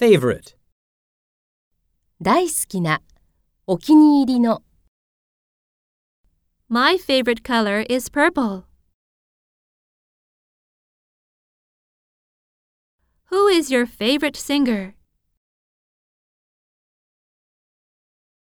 favorite. 大好きな、お気に入りの。 My favorite color is purple. Who is your favorite singer?